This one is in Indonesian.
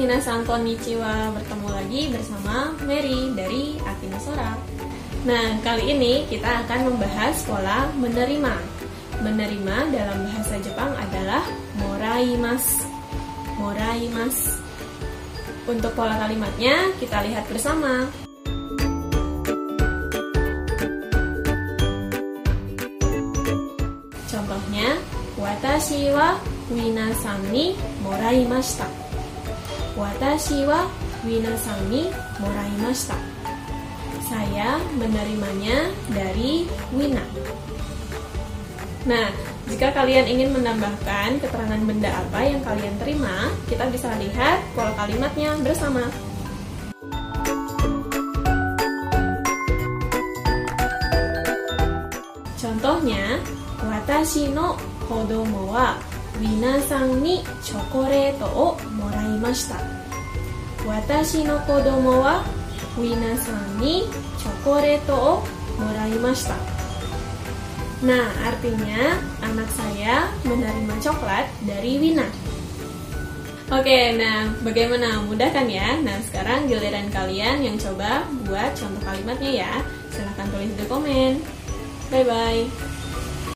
minasan konnichiwa, bertemu lagi bersama Mary dari Akina Sora. Nah, kali ini kita akan membahas pola menerima. Menerima dalam bahasa Jepang adalah moraimasu. Moraimasu. Untuk pola kalimatnya kita lihat bersama. Contohnya, watashi wa minasan ni moraimashita. Watashi wa minasan ni moraimashita. Saya menerimanya dari Wina. Nah, jika kalian ingin menambahkan keterangan benda apa yang kalian terima, kita bisa lihat pola kalimatnya bersama. Contohnya, watashi no kodomo wa minasan ni chocolate o moraimashita. Watashi no kodomo wa minasan ni chocolate o moraimashita. Nah, artinya anak saya menerima coklat dari Wina. Oke, nah bagaimana? Mudah kan ya? Nah, sekarang giliran kalian yang coba buat contoh kalimatnya ya. Silahkan tulis di komen. Bye-bye.